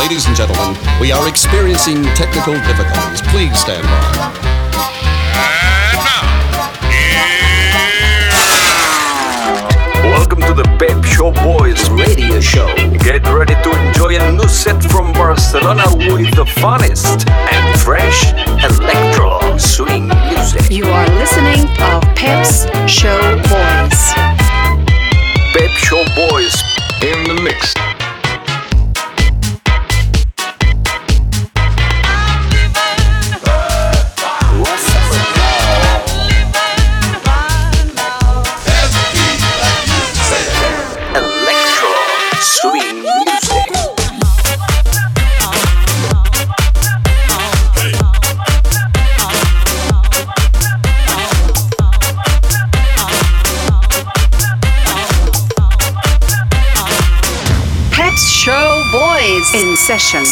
Ladies and gentlemen, we are experiencing technical difficulties. Please stand by. Welcome to the Pep Show Boys radio show. Get ready to enjoy a new set from Barcelona with the funnest and fresh electro swing music. You are listening to Pep's Show Boys. Pep Show Boys in the mix. In session.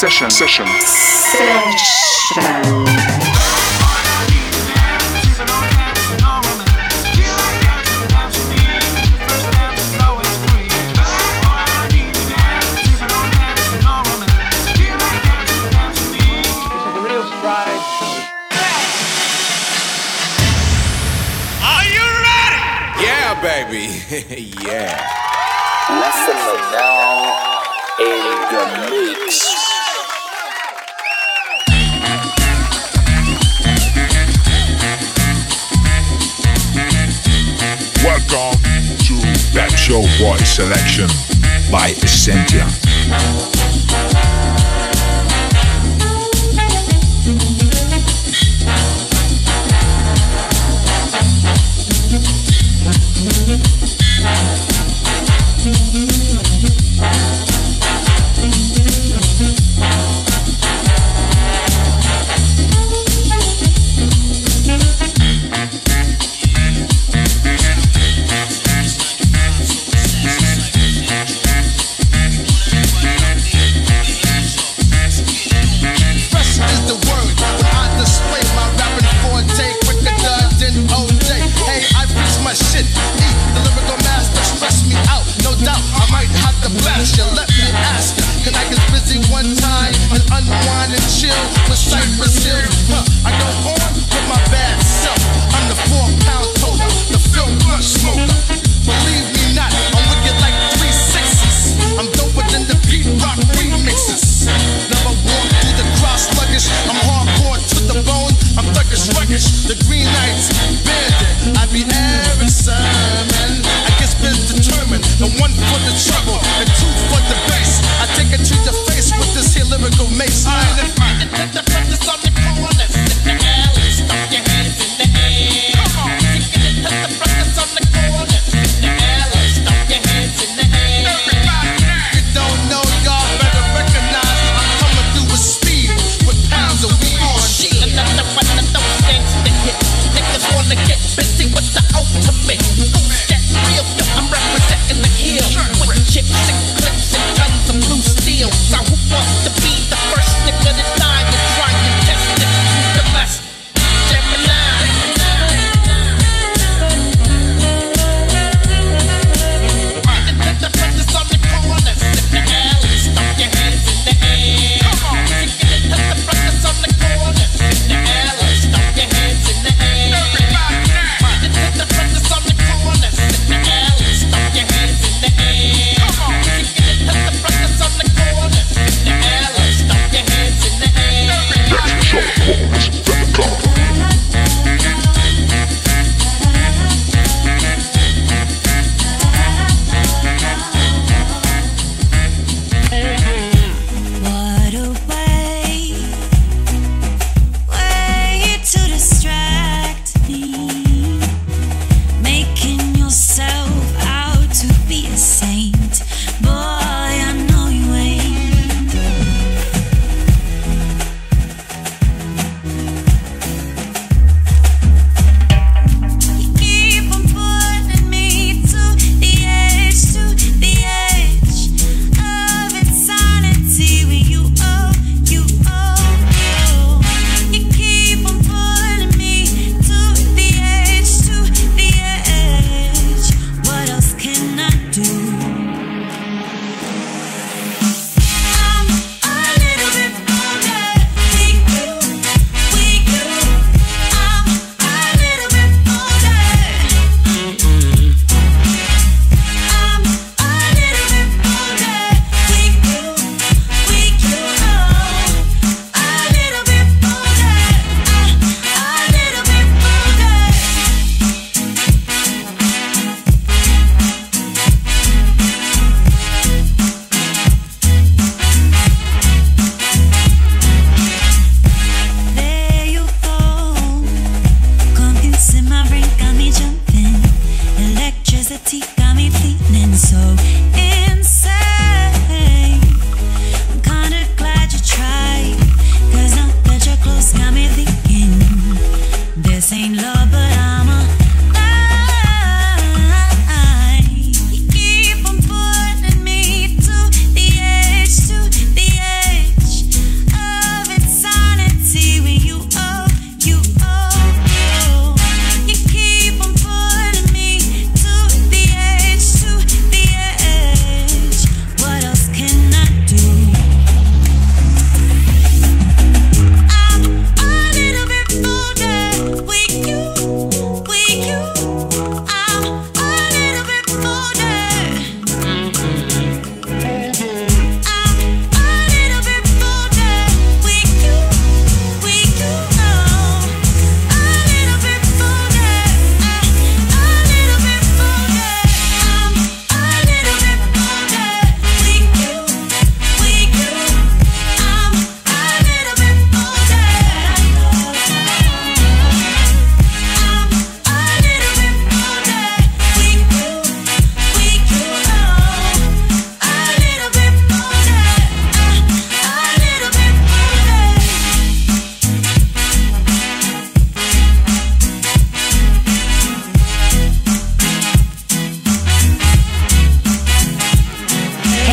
Are you ready? Yeah, baby. Yeah. Listen now. In the mix. Welcome to Pep Show Boys selection by Essentia. The green lights, bandit, I be every sermon. I guess been determined, the one for the trouble, and two for the bass. I take it to your face with this here lyrical mace. I ain't the practice on the corner.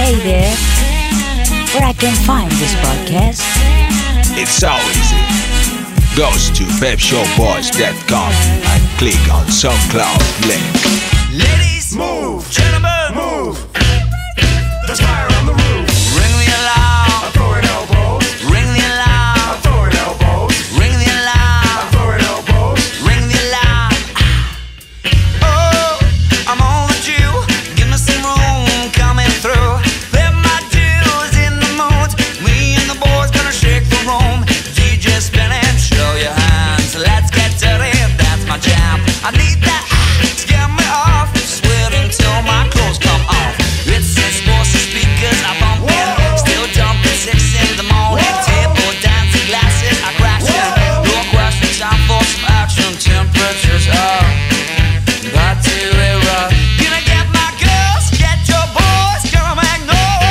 Hey there, where I can find this podcast? It's so easy. Go to pepshowboys.com and click on SoundCloud link. Ladies, move. Gentlemen, move. There's fire on the roof. Ring the alarm. I'm throwing elbows. Ring the alarm. I'm throwing elbows. Ring the alarm. I'm throwing elbows. Ring the alarm. Oh, I'm overdue. Give me some room coming through. Let my dues in the mood. Me and the boys gonna shake the room. DJ spinning, show your hands. Let's get dirty, that's my jam. I need that to get me off. Sweating till my clothes come off. It's sports speakers, I bump in. Still dumping 6 in the morning. Table dancing, glasses are crashing. No question, time for some action. Temperatures are about to erupt. Gonna get my girls, get your boys. Gonna make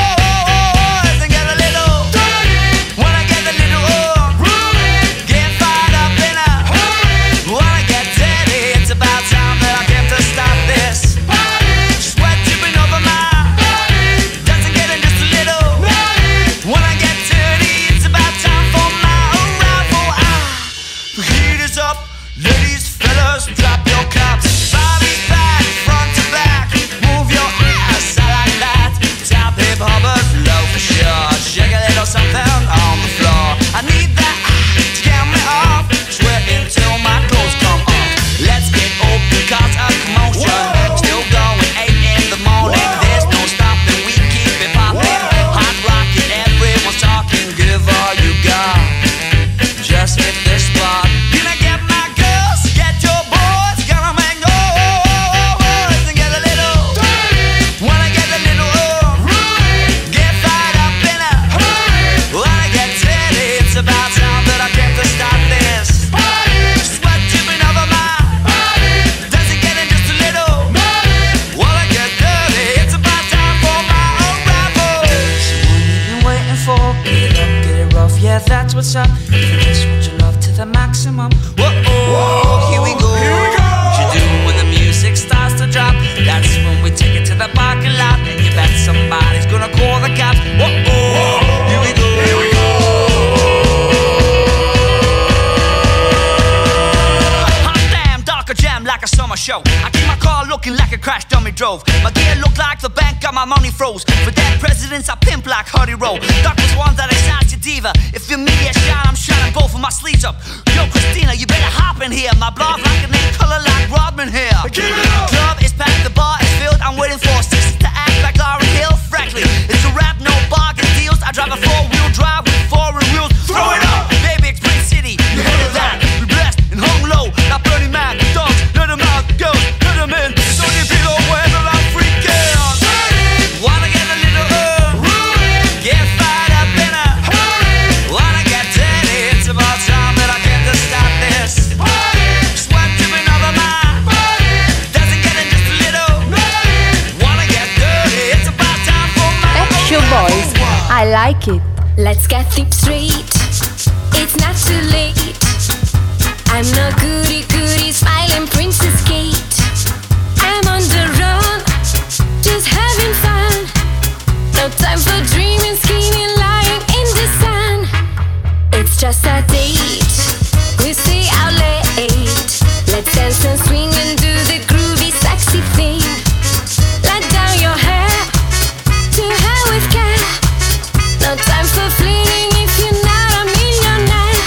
noise and get a little dirty. Wanna get a little get fired up in a hurry. Wanna get dirty. It's about time that I came to stop this. Sweat dripping over my doesn't get in just a little. Wanna get dirty. It's about time for my arrival. The heat is up, ladies, fellas, drop your cups. Bobby's back, front to back. Move your ass, I like that. Top hip hoppers, low for sure. Shake a little something on the floor. I need that to get me off. Sweating till my clothes come off. Let's get open, cause a commotion. Still going 8 in the morning. There's no stopping, we keep it popping. Hot rocking, everyone's talking. Give all you got. Just hit this spot. Gonna get my girls, get your boys. Gonna make noise and get a little dirty. Wanna get a little get fired up in a hurry. Wanna get dirty. It's about time that I came to stop this. Sweat dripping over my doesn't get in just a little. Wanna get dirty. It's about time for my arrival. So what you been waiting for? Get it up, get it rough. Yeah, that's what's up. Just want your love to the maximum. Whoa, here we go. What you do when the music starts to drop? That's when we take it to the parking lot. And you bet somebody's gonna call the cops. Whoa, here we go. Hot damn, darker jam like a summer show. I keep my car looking like a crash dummy drove. My gear look like the bank got my money froze. For dead presidents I pimp like Huddy Rowe. Doc was one that I shot your diva. If you're me a shot, I'm shining both of my sleeves up. Yo Christina, you better hop in here. My blood like a name, color like Rodman here. Club is packed, the bar is filled. I'm waiting for sisters to act like Lauryn Hill. Frankly, it's a rap, no bargain deals. I drive a 4-wheel drive with foreign wheels. Throw it up, baby, it's Green City. You heard of that? We blessed and hung low. Now Bernie Mac, dogs, let them out, girls, let them in. So you feel wherever I'm freaking. Wanna get a little get fired up in a hurry. Wanna get dirty. It's about time that I came to stop this. Sweat dripping over my doesn't get in just a little. Wanna get dirty. It's about time for my Pep Show Boys, I like it. Let's get things straight. It's not too late. I'm no goody goody smiling Princess Kate. I'm on the run, just having fun. No time for dreaming, scheming, lying in the sun. It's just a date. We stay out late. Let's dance and swing and do the groovy, sexy thing. Let down your hair, to hell with care. No time for flirting if you're not a millionaire.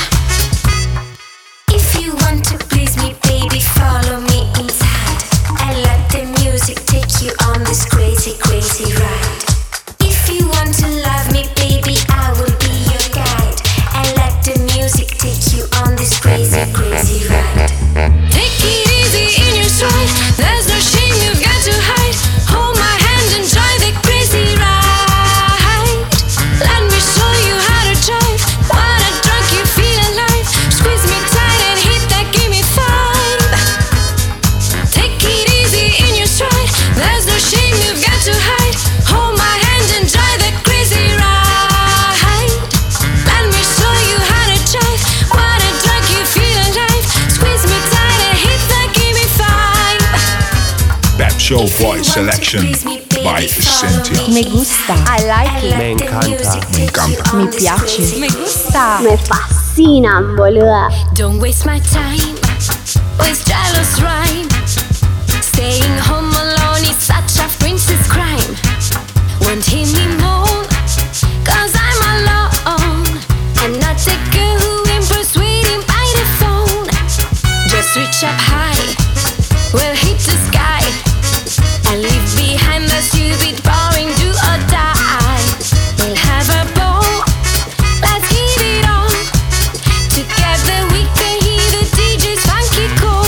If you want to please me, baby, follow me inside. And let the music take you on this crazy, crazy ride. If you want to love me, baby, I will be your guide. And let the music take you on this crazy, crazy ride. Take it easy in your stride. There's no shame you've got to hide. Hold my hand and try the crazy ride. Let me show you how to drive. What a drunk you feel alive. Squeeze me tight and hit that, give me 5. Take it easy in your stride. There's no shame you've got to hide. Hold my hand and try the crazy ride. Let me show you how to drive. What a drunk you feel alive. Squeeze me tight and hit that, give me 5. Pep Show Boys selection by My senti. Me gusta. I like it. Me encanta. Me encanta. Mi piace. Me gusta. Me fascinan, boluda. Don't waste my time with jealous rhyme. Staying home alone is such a princess crime. Won't hear me moan, cause I'm alone. I'm not the girl who impressed waiting by the phone. Just reach up high, we'll hit the sky, and leave behind the stupid boring do or die. We'll have a ball, let's hit it on. Together we can hear the DJ's funky call.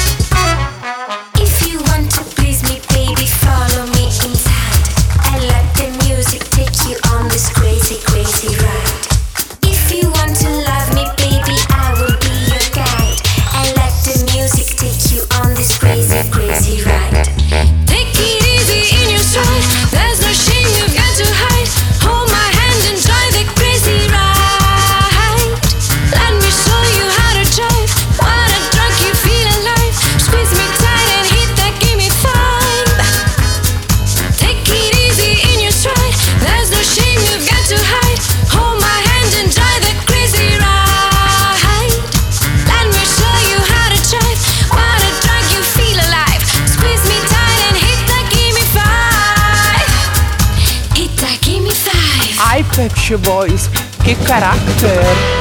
If you want to please me, baby, follow me inside, and let the music take you on this crazy, crazy ride. If you want to love me, baby, I will be your guide, and let the music take you on this crazy, crazy ride. Take it easy in your stride, there's no shame you've got to hide. Hold my hand and try the crazy ride. Let me show you how to drive. Wanna drunk you feel alive. Squeeze me tight and hit that gimme five. Take it easy in your stride, there's no shame you've got to hide. Hold my hand and try the crazy ride. Let me show you how to drive. Wanna drunk you feel alive. Squeeze me tight and hit that gimme five. Hit that gimme five. Ai Pep Show Boys, che carattere!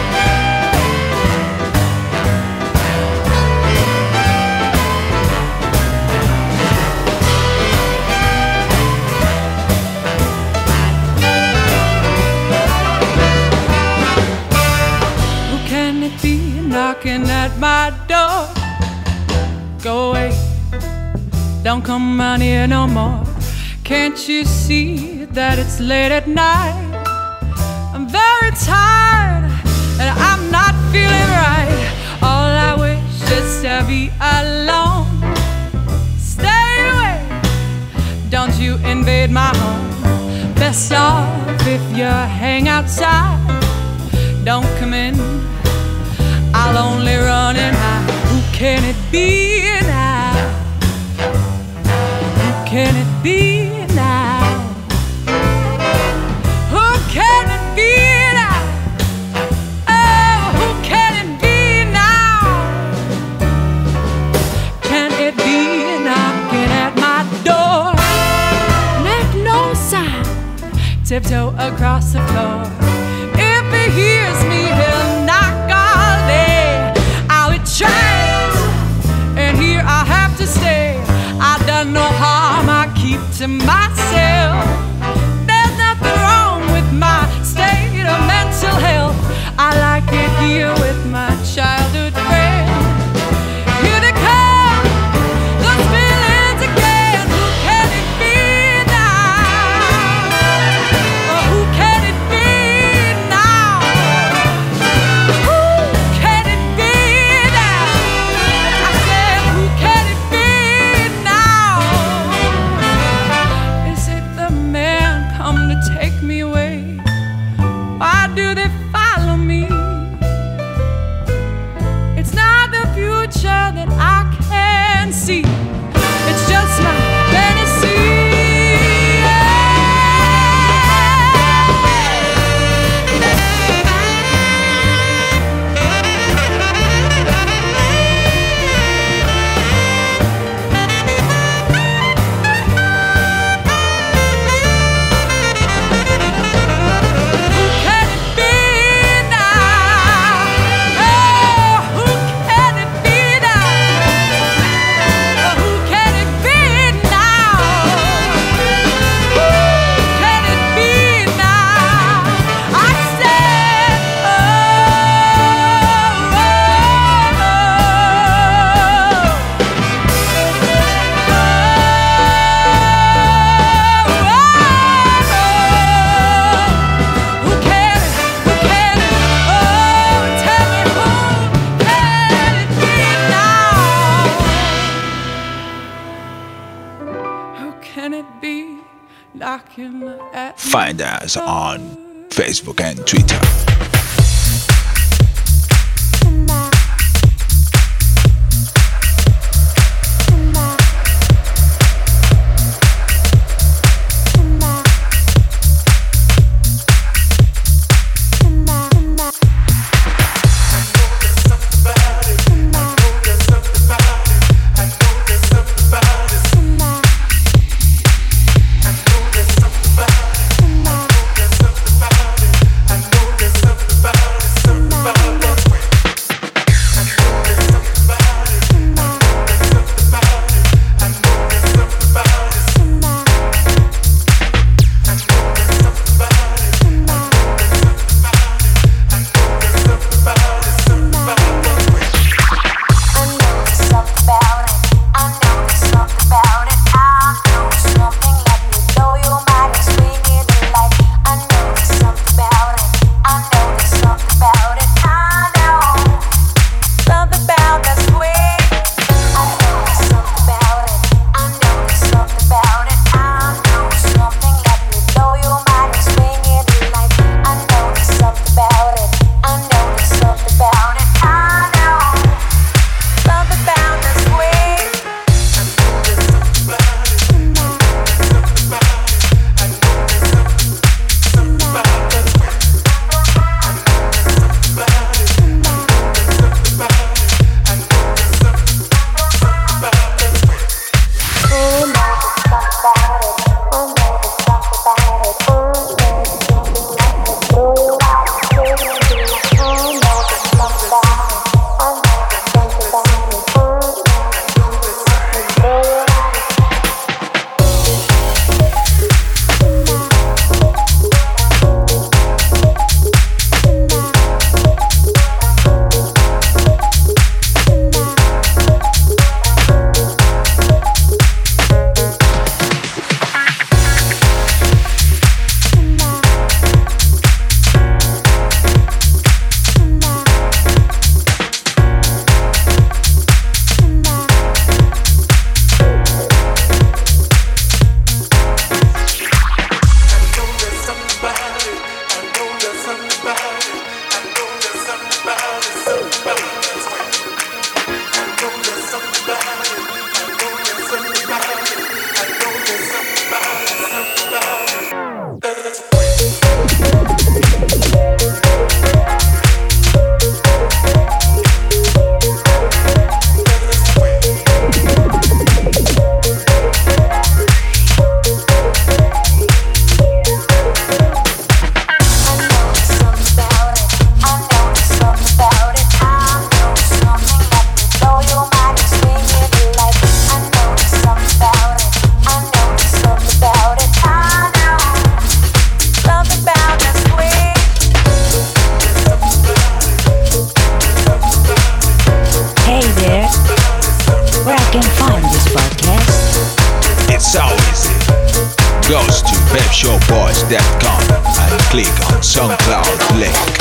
Who can it be knocking at my door? Go away, don't come round here no more. Can't you see that it's late at night? I'm very tired and I'm not feeling right. All I wish is to be alone. Stay away, don't you invade my home. Best off if you hang outside. Don't come in, I'll only run and hide. Who can it be now? Who can it be now? Who can it be now? Oh, who can it be now? Can it be knocking at my door? Make no sound, tiptoe across the floor. If he hears me, he'll knock all day. I would try, and here I have to stay. I've done no harm, I keep to myself. There's nothing wrong with my state of mental health. I like it here with my childhood friend. Here they come, those feelings again. Who can it be now? Oh, who can it be now? Who can it be now? I said, who can it be now? Is it the man come to take me away? Why do they follow me? It's not the future that I can see. It's just my fantasy. Who can it be now? Oh, who can it be now? Oh, who can it be now? Who can it be now? I said, who can it? Who can it? Oh, tell me who can it be now? Who can it be knocking at Find us on Facebook and Twitter. PepShowBoys.com and click on SoundCloud link.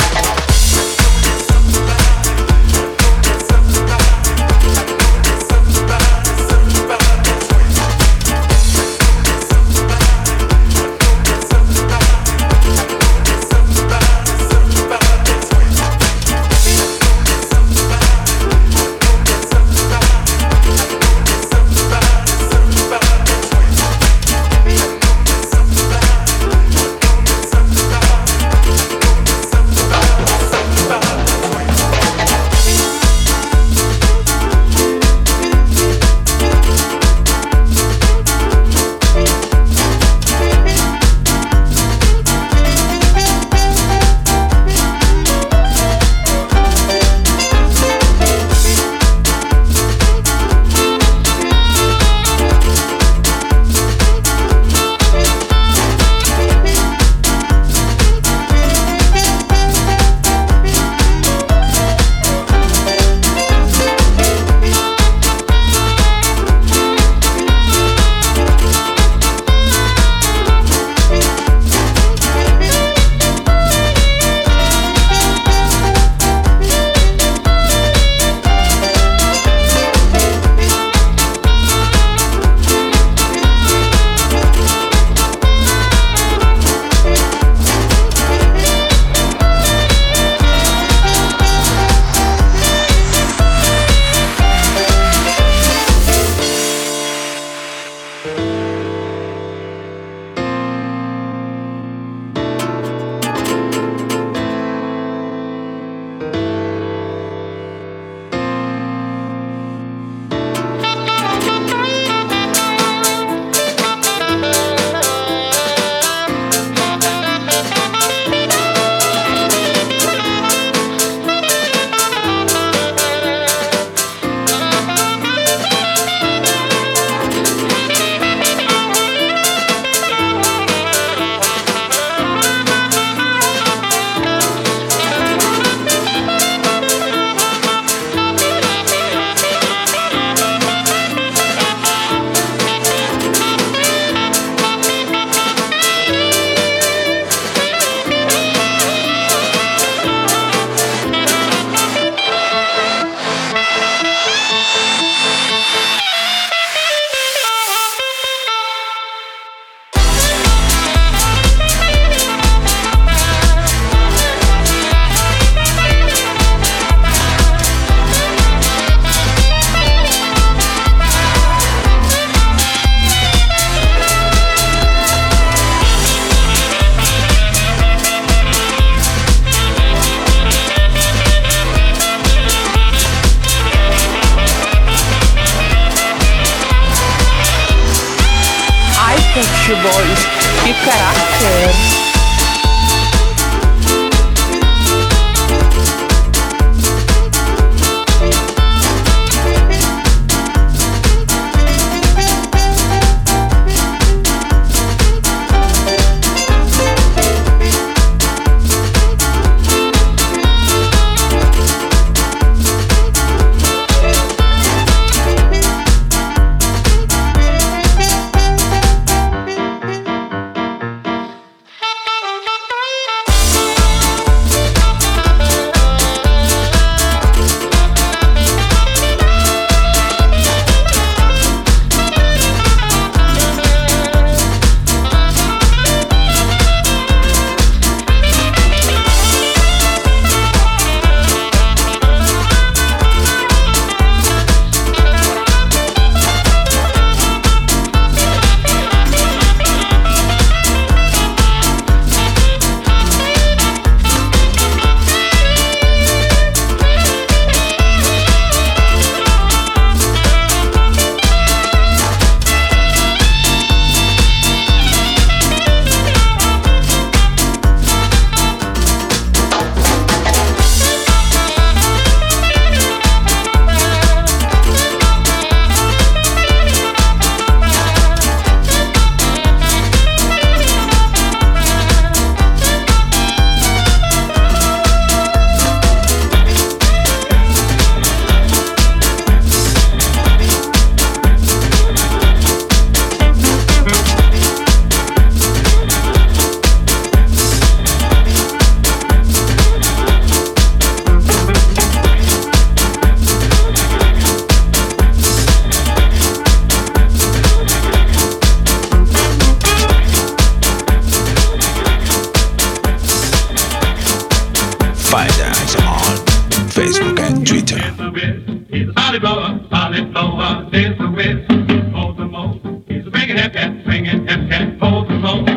Boys, que caráter! Find us on Facebook and Twitter. He's a solid blower, solid blower, there's the whiz, hold the most. He's a bringing hip cat, swinging hip cat, hold the most.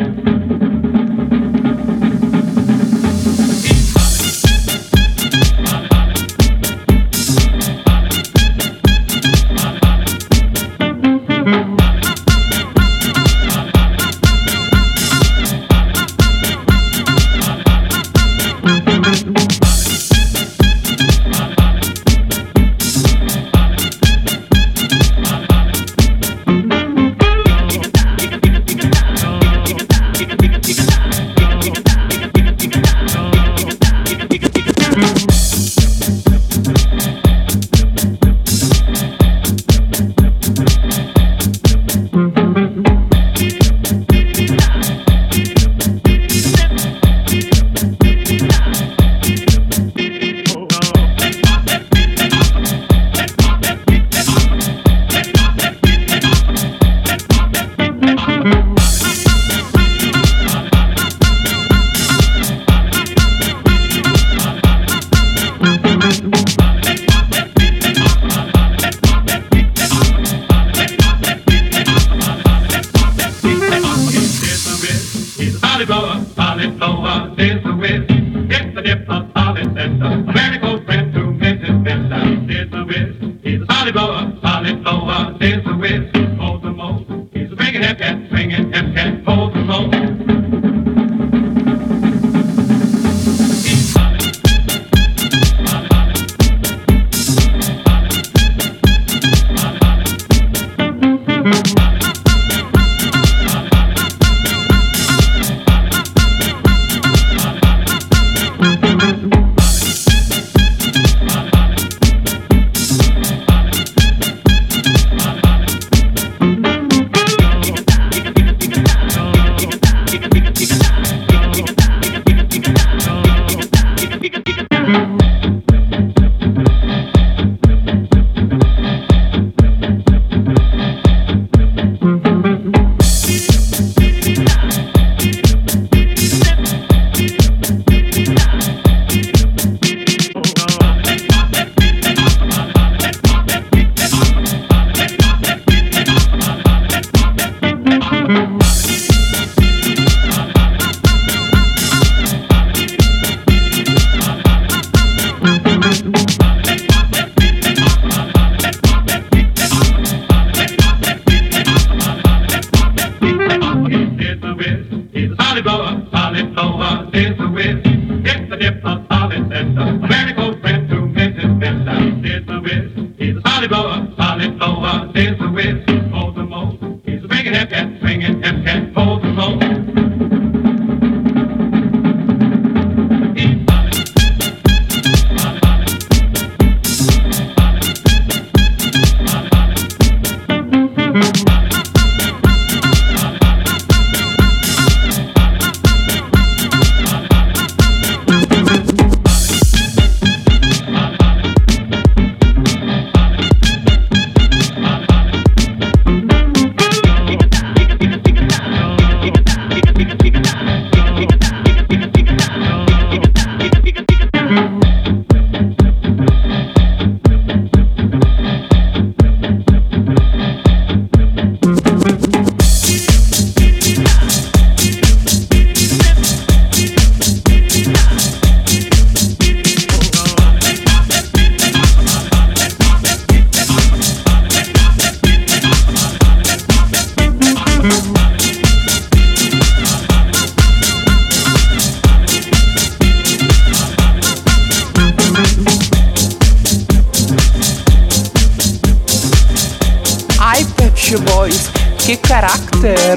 Boys, che carattere!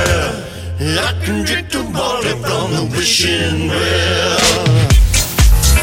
I can drink the water from the wishing well.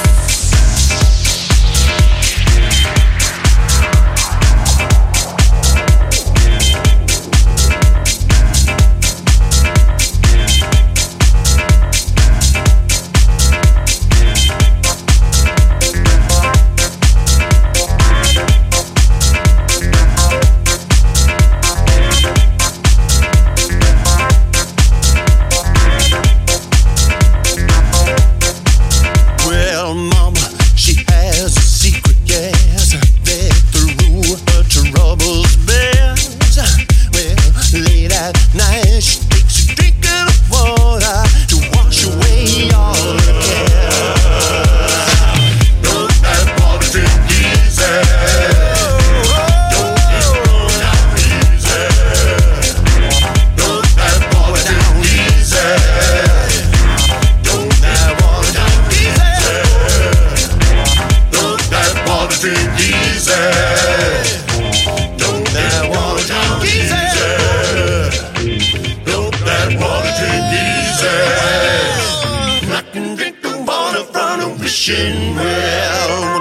wishing well.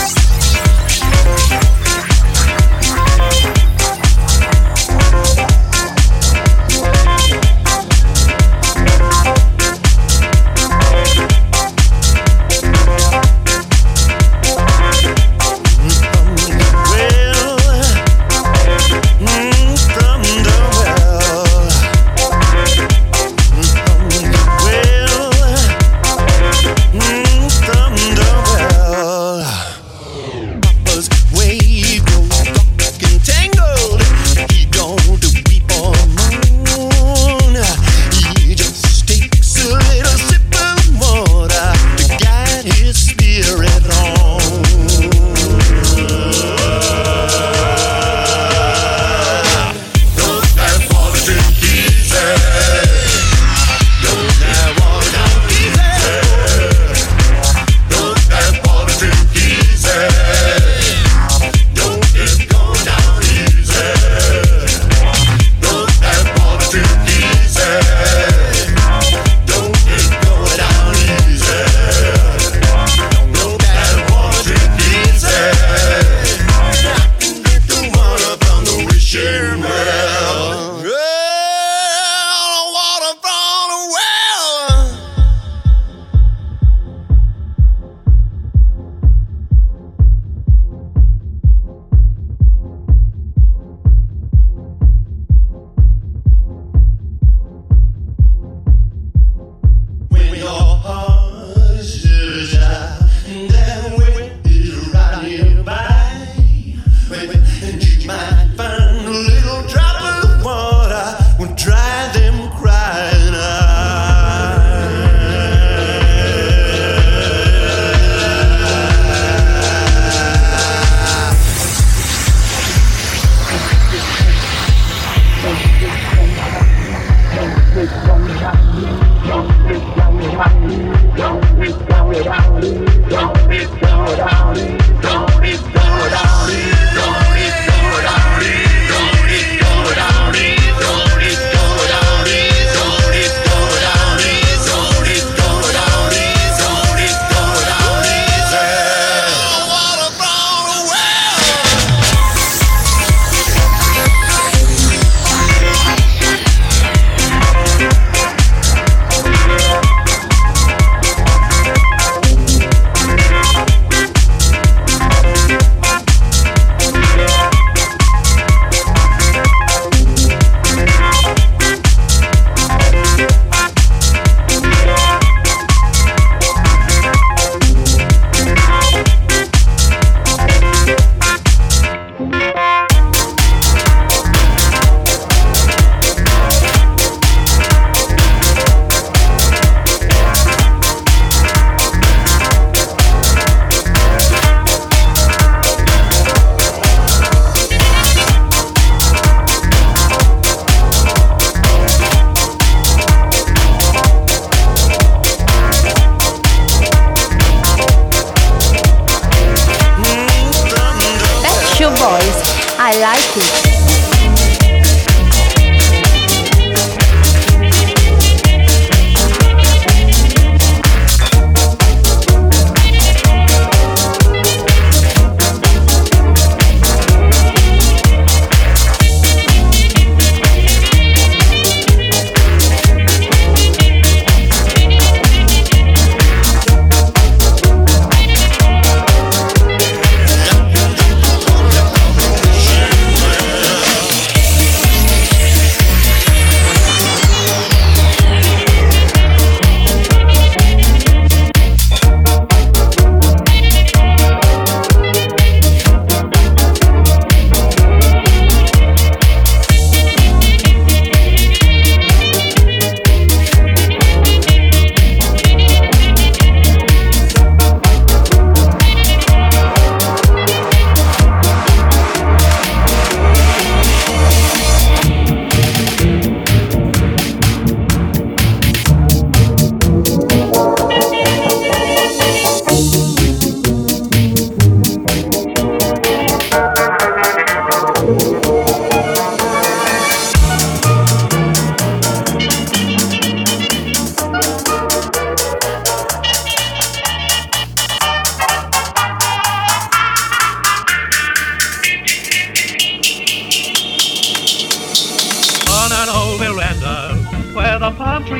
I like it.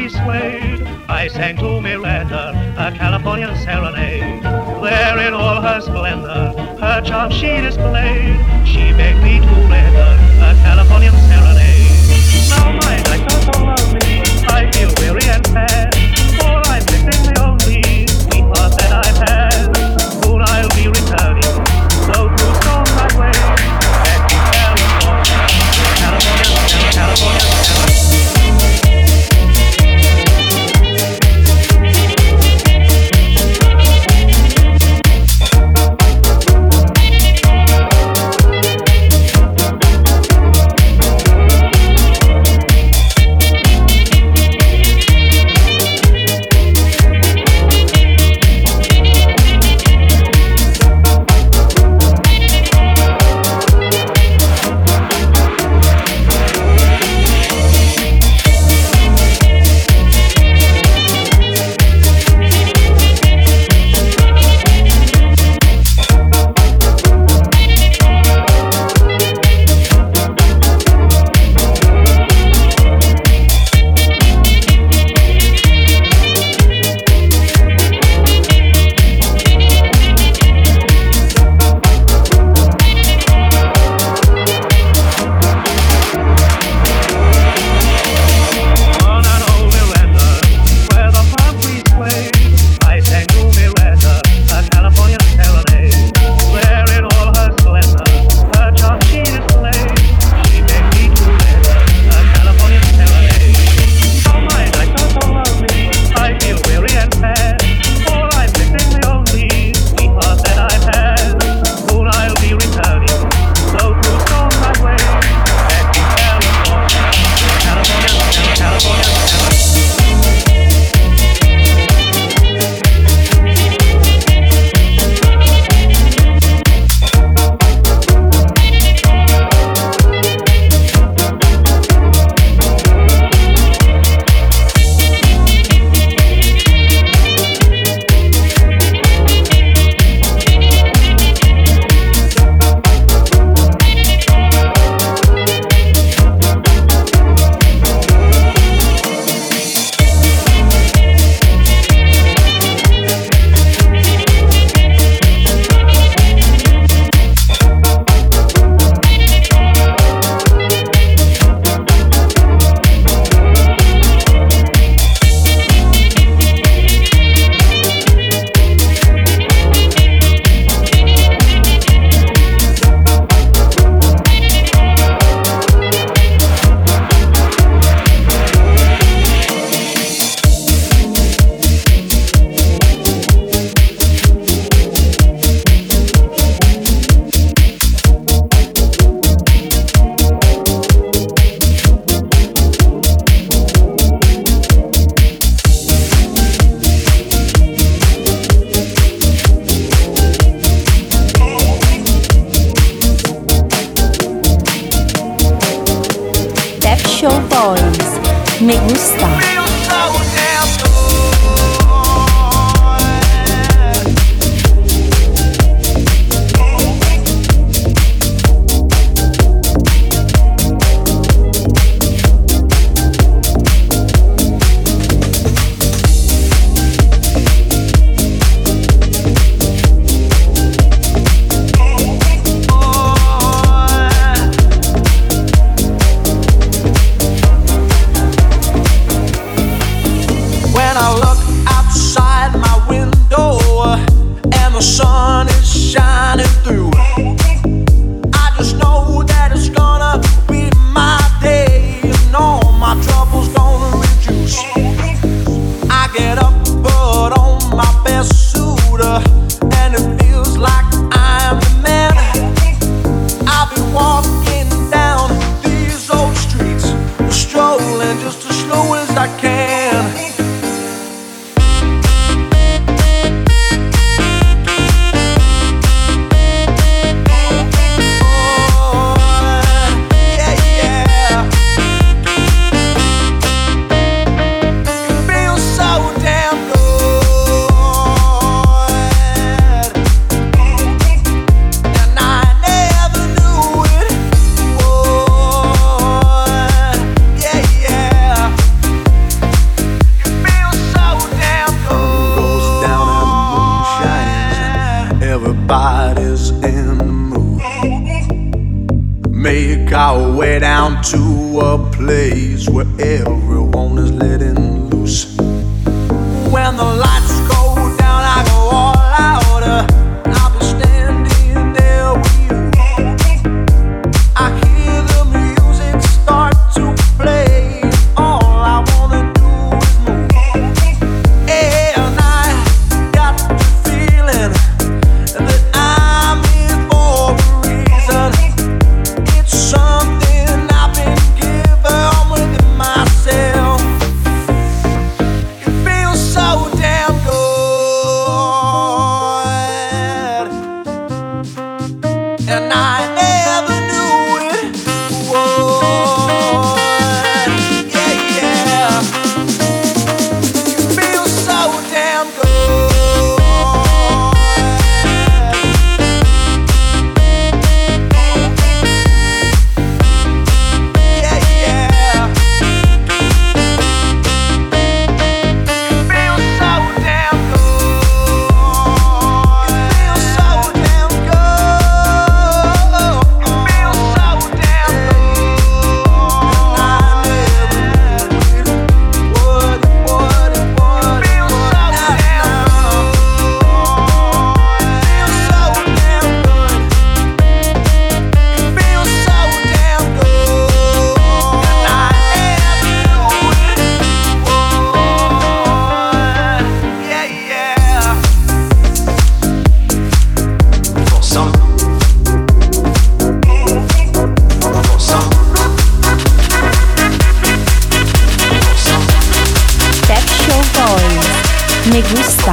we swayed, I sang to Miranda a Californian serenade. There in all her splendor, her charm she displayed. She begged me to render a Californian serenade. Now my nights are so lonely, I feel weary and sad, for I'm missing the only sweetheart that I've had. Soon I'll be returning, so through storms I wait, back to California, California, Me gusta. our way down to a place where everyone is letting loose. When the lights go down, I go all out. I'll be standing there with you. I hear the music start to play. All I wanna do is move. And I got the feeling that I'm here for a reason. It's something I've been given within myself. It feels so damn good, and I never knew it would. Yeah, yeah. It feels so damn good. Yeah, yeah. It feels so damn good. It feels so damn good. It feels so damn good. And I never knew it would. It feels so damn good. It feels so damn good. And I never knew it would. Yeah, yeah. For some. Pep Show Boys. Me gusta.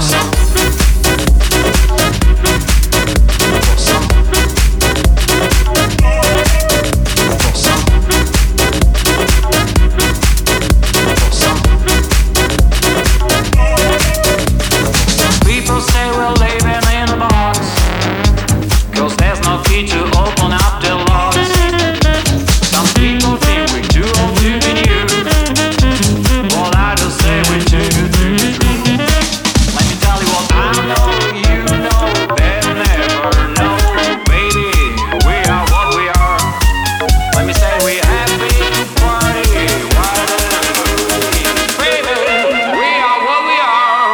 People say we're living in a box, 'cause there's no key to open up the locks. Some people think we're too old to be new. Well, I just say we're too good to be true. Let me tell you what I know, you know, they'll never know. Baby, we are what we are. Let me say we're happy to party while the movie. Baby, we are what we are.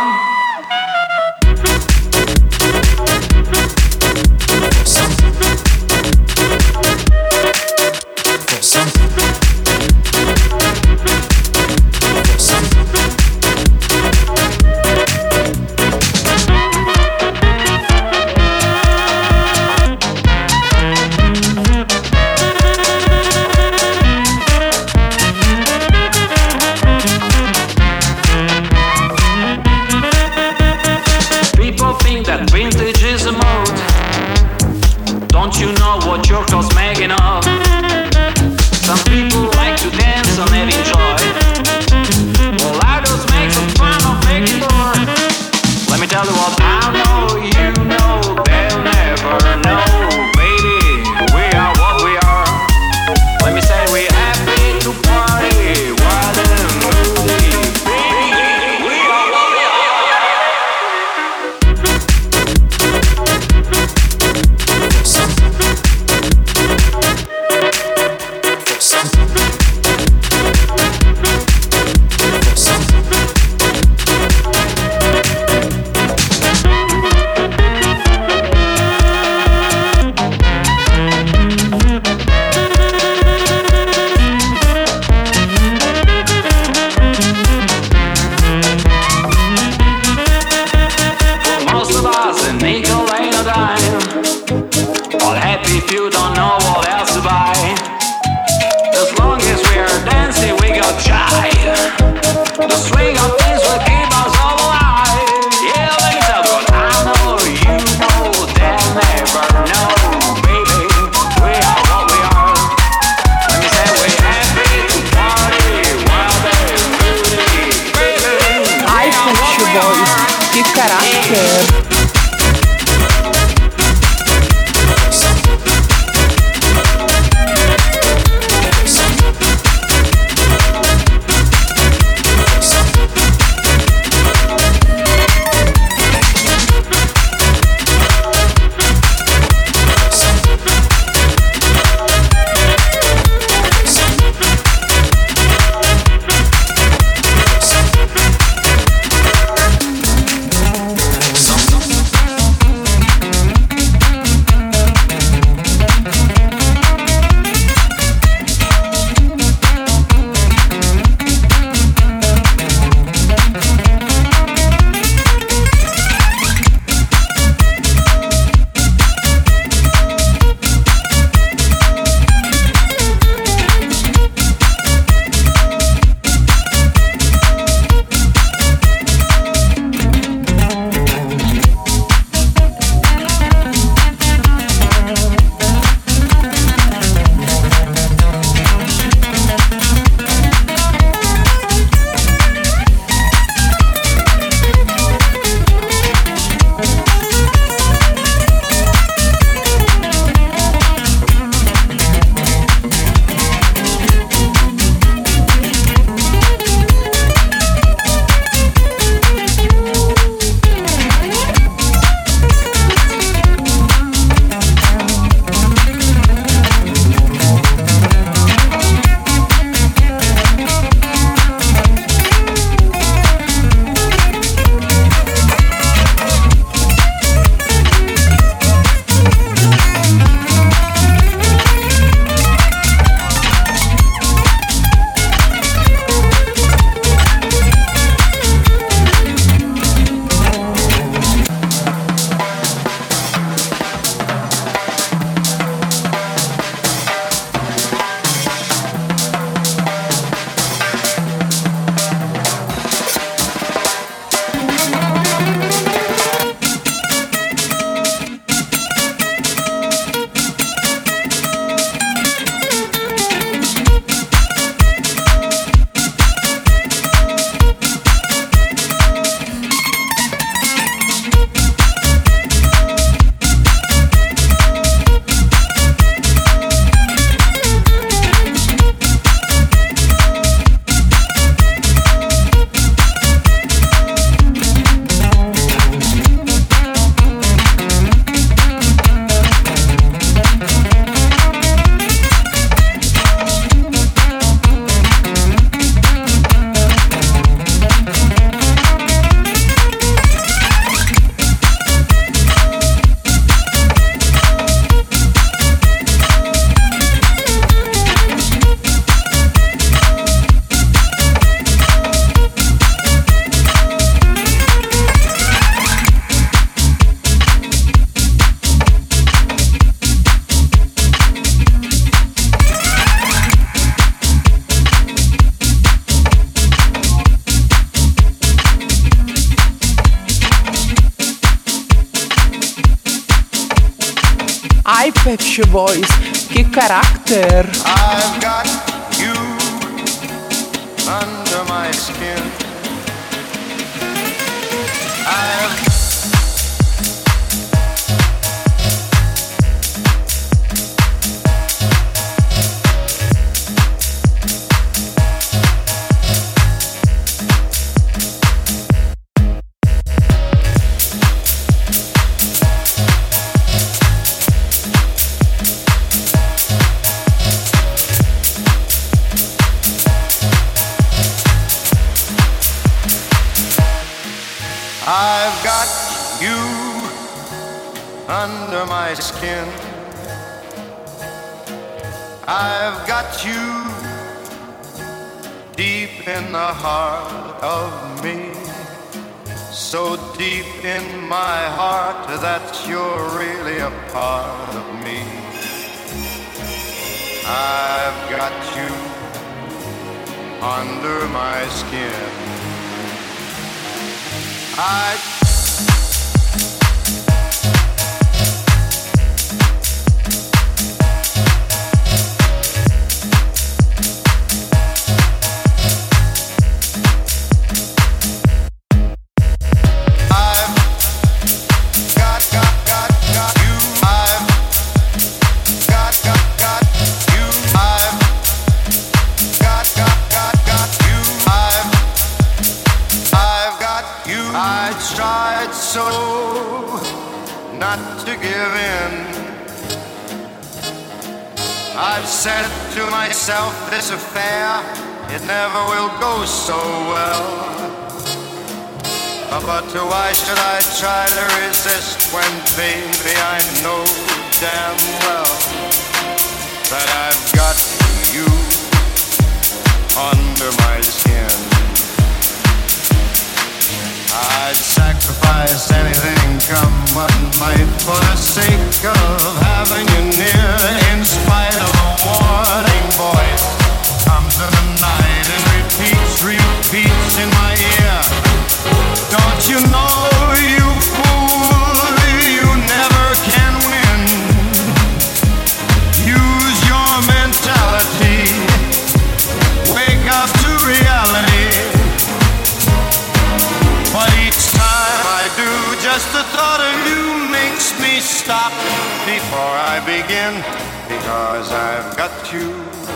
People think that vintage is a mode. Don't you know what your clothes making of? Some people like to dance and they enjoy. Well, I just make some fun of making more. Let me tell you what I know, you know, they'll never know. Baby, we are what we are. Let me say we're happy to party while the movie. Baby, we are what we are. Most of us in nickel ain't a dime. All happy if you don't know what else to buy. As long as we're dancing, we got shy. The swing of things will keep us all alive. Yeah, let me tell you what I know, you know, they'll never know. Baby, we are what we are. Let me say we're happy to party while they're moving. Baby, Ai, Pep Show Boys. Que caráter. Ai, Pet Shop Boys, che carattere! I've got you under my skin. I've got you under my skin. I've got you deep in the heart of me. So deep in my heart that you're really a part of me. I've got you under my skin. So not to give in. I've said to myself, this affair, it never will go so well. But why should I try to resist when, baby, I know damn well that I've got you under my skin. I'd sacrifice anything, come what might, for the sake of having you near. In spite of a warning voice, comes in the night and repeats in my ear. Don't you know, you fool, you never can win. Use your mentality, wake up to reality. But each time I do, just the thought of you makes me stop before I begin. Because I've got you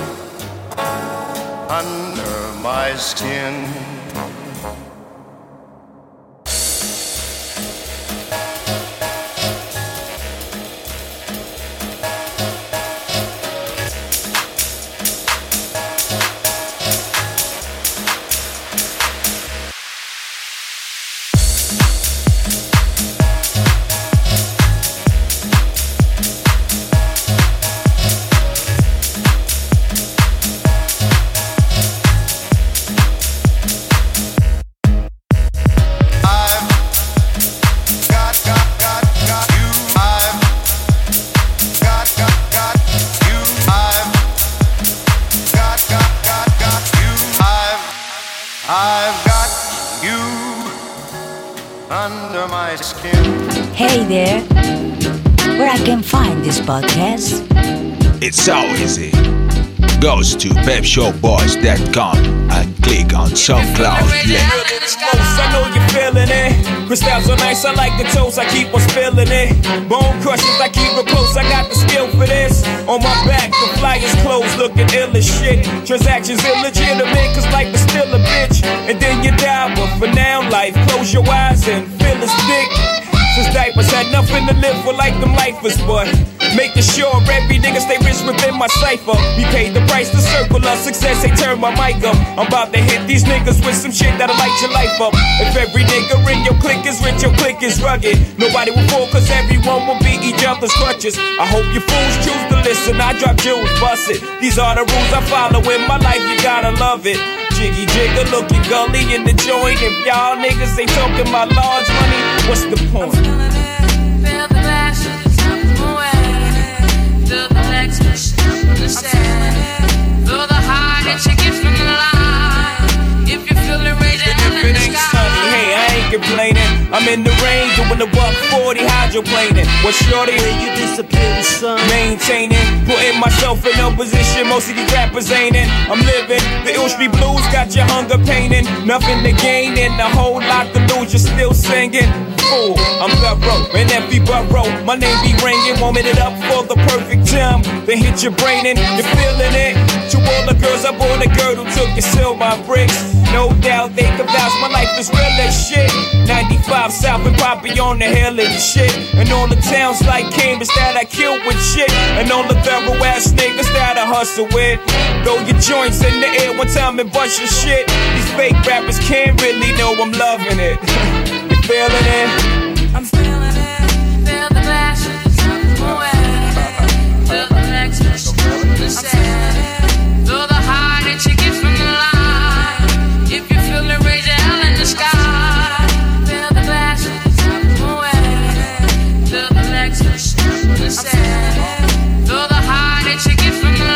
under my skin. Hey there, where I can find this podcast? It's so easy. Go to pepshowboys.com and click on SoundCloud link. I know you're feeling it. Crystals are nice, I like the toes, I keep on spilling it. Bone crushers, I keep it close, I got the skill for this. On my back, the flyers clothes looking ill as shit. Transactions illegitimate, cause life is still a bitch. And then you die, but for now, life, close your eyes and feel it's thick. Since diapers had nothing to live for like them lifers, but making sure every nigga stay rich within my cipher. We paid the price to circle of success, they turn my mic up. I'm about to hit these niggas with some shit that'll light your life up. If every nigga in your clique is rich, your clique is rugged. Nobody will fall cause everyone will be each other's crutches. I hope you fools choose to listen, I drop jewels, bust it. These are the rules I follow in my life, you gotta love it. Jiggy jigger, looking gully in the joint. If y'all niggas ain't talking about large money, what's the point? Feel the passion, away. Feel the legs push up on the sand. Feel the high that you get from the line. If you feel it raging in the sky. Hey, I ain't complaining. I'm in the rain doing the $140 hydroplaning. What shorty? You disappear, son. Maintaining, putting myself in a position most of these rappers ain't in. I'm living the Ill Street Blues, got your hunger painting. Nothing to gain and a whole lot to lose. You're still singing. Fool, I'm thorough in every borough. My name be ringing, warming it up for the perfect time. Then hit your brain and you're feeling it. To all the girls, I bought a girl who took your silver bricks. No doubt they can vouch my life is real as shit. 95 South and Poppy on the hill and shit. And all the towns like Cambridge that I killed with shit. And all the thorough ass niggas that I hustle with. Throw your joints in the air one time and bust your shit. These fake rappers can't really know I'm loving it. You feeling it? I'm feeling it. Feel the passion away. Feel the next the sad. Feel the heart that you get from the line. If you feel it, raise your hell in the sky. Feel the passion away. Feel the next the sad. Feel the heart that you get from the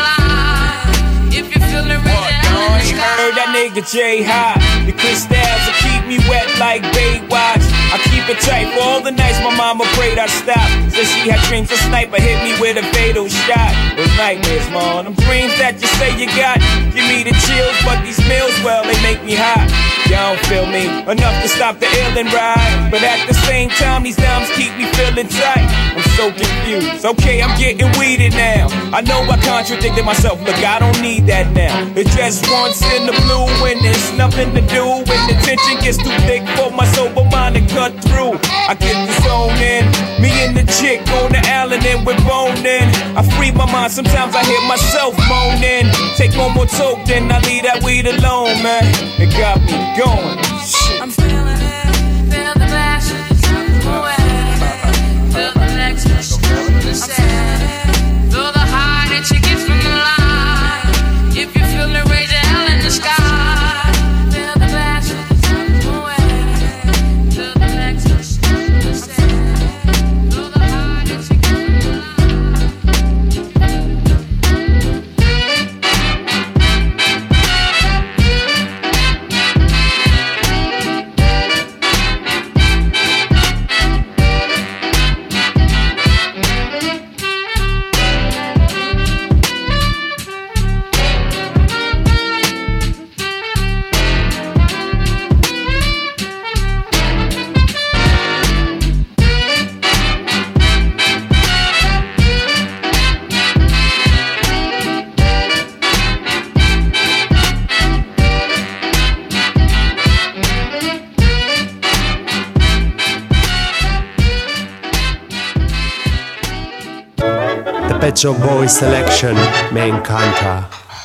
line. If you feel it, raise your hell in the sky. Heard that nigga J High. The crystals will keep me wet like Baywatch. I keep it tight for all the nights my mama prayed I'd stop. Said she had dreams a sniper hit me with a fatal shot. Those nightmares, man, them dreams that you say you got. Give me the chills, but these meals, well, they make me hot. Y'all don't feel me enough to stop the ill and ride. But at the same time, these dimes keep me feeling tight. I'm so confused. Okay, I'm getting weeded now. I know I contradicted myself. Look, I don't need that now. It's just once in the blue when there's nothing to do. When the tension gets too thick for my sober mind to cut through. I get the zone in. Me and the chick on the island and we're boning. I free my mind. Sometimes I hear myself moaning. Take one more toke, then I leave that weed alone, man. It got me going. Shit. I'm feeling it. Feel the passion away. Feel the next the sad. Feel the heart that you get from the line. If you feel it, raise your hell in the sky. Feel the passion away. Feel the next the sad. Feel the heart that you get from the Pet Shop Boys Selection me encanta.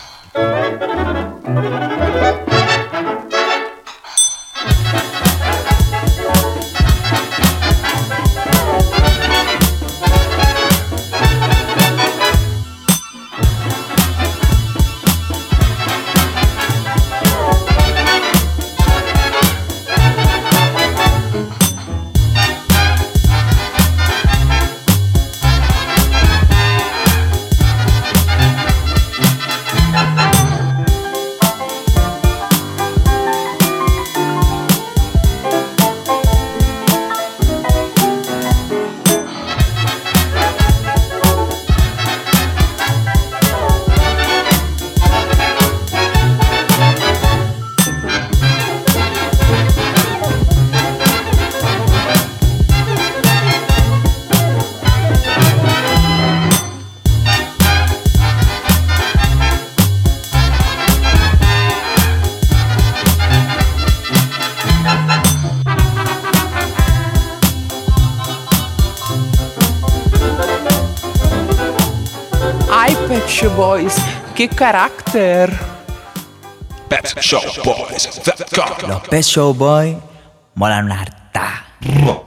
Pet Shop Boys, qué carácter. Pet Shop Boys.com. Los Pet Shop Boys molan una harta.